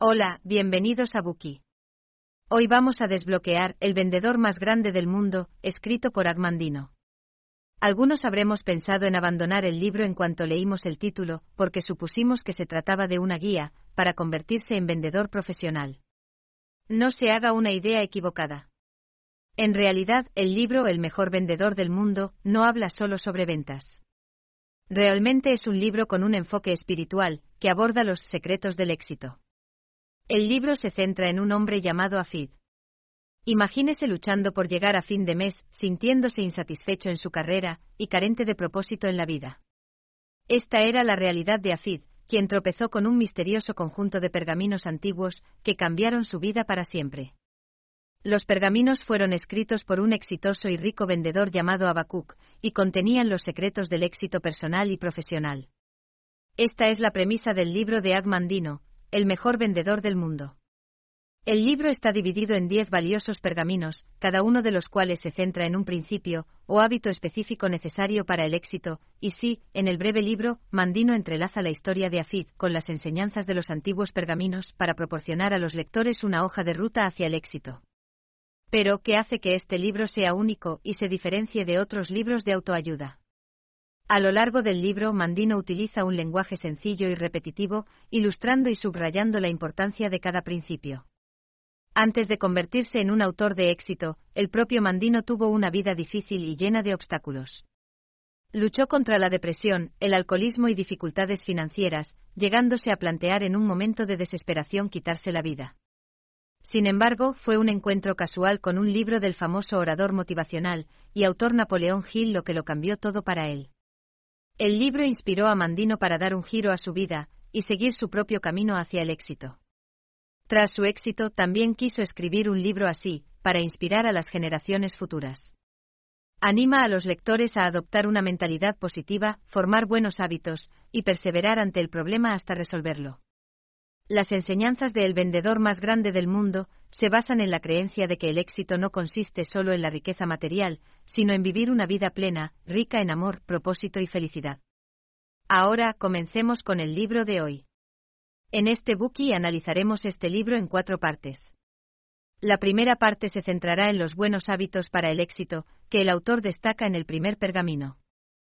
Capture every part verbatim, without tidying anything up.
Hola, bienvenidos a Bookey. Hoy vamos a desbloquear El vendedor más grande del mundo, escrito por Ag Mandino. Algunos habremos pensado en abandonar el libro en cuanto leímos el título, porque supusimos que se trataba de una guía para convertirse en vendedor profesional. No se haga una idea equivocada. En realidad, el libro El mejor vendedor del mundo no habla solo sobre ventas. Realmente es un libro con un enfoque espiritual, que aborda los secretos del éxito. El libro se centra en un hombre llamado Afid. Imagínese luchando por llegar a fin de mes, sintiéndose insatisfecho en su carrera y carente de propósito en la vida. Esta era la realidad de Afid, quien tropezó con un misterioso conjunto de pergaminos antiguos que cambiaron su vida para siempre. Los pergaminos fueron escritos por un exitoso y rico vendedor llamado Habacuc, y contenían los secretos del éxito personal y profesional. Esta es la premisa del libro de Ag Mandino, El mejor vendedor del mundo. El libro está dividido en diez valiosos pergaminos, cada uno de los cuales se centra en un principio o hábito específico necesario para el éxito, y sí, en el breve libro, Mandino entrelaza la historia de Afid con las enseñanzas de los antiguos pergaminos para proporcionar a los lectores una hoja de ruta hacia el éxito. Pero, ¿qué hace que este libro sea único y se diferencie de otros libros de autoayuda? A lo largo del libro, Mandino utiliza un lenguaje sencillo y repetitivo, ilustrando y subrayando la importancia de cada principio. Antes de convertirse en un autor de éxito, el propio Mandino tuvo una vida difícil y llena de obstáculos. Luchó contra la depresión, el alcoholismo y dificultades financieras, llegándose a plantear en un momento de desesperación quitarse la vida. Sin embargo, fue un encuentro casual con un libro del famoso orador motivacional y autor Napoleón Hill lo que lo cambió todo para él. El libro inspiró a Mandino para dar un giro a su vida y seguir su propio camino hacia el éxito. Tras su éxito, también quiso escribir un libro así, para inspirar a las generaciones futuras. Anima a los lectores a adoptar una mentalidad positiva, formar buenos hábitos y perseverar ante el problema hasta resolverlo. Las enseñanzas de El vendedor más grande del mundo se basan en la creencia de que el éxito no consiste solo en la riqueza material, sino en vivir una vida plena, rica en amor, propósito y felicidad. Ahora, comencemos con el libro de hoy. En este Bookey analizaremos este libro en cuatro partes. La primera parte se centrará en los buenos hábitos para el éxito, que el autor destaca en el primer pergamino.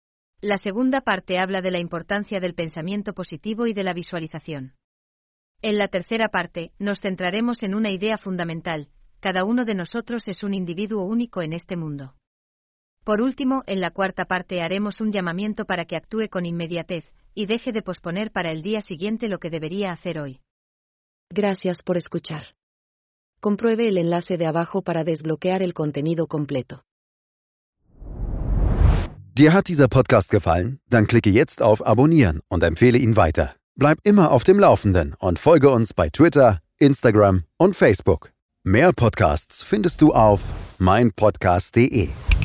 La segunda parte habla de la importancia del pensamiento positivo y de la visualización. En la tercera parte, nos centraremos en una idea fundamental: cada uno de nosotros es un individuo único en este mundo. Por último, en la cuarta parte haremos un llamamiento para que actúe con inmediatez y deje de posponer para el día siguiente lo que debería hacer hoy. Gracias por escuchar. Compruebe el enlace de abajo para desbloquear el contenido completo. Dir hat dieser Podcast gefallen? Dann klicke jetzt auf Abonnieren und empfehle ihn weiter. Bleib immer auf dem Laufenden und folge uns bei Twitter, Instagram und Facebook. Mehr Podcasts findest du auf mein podcast punkt de.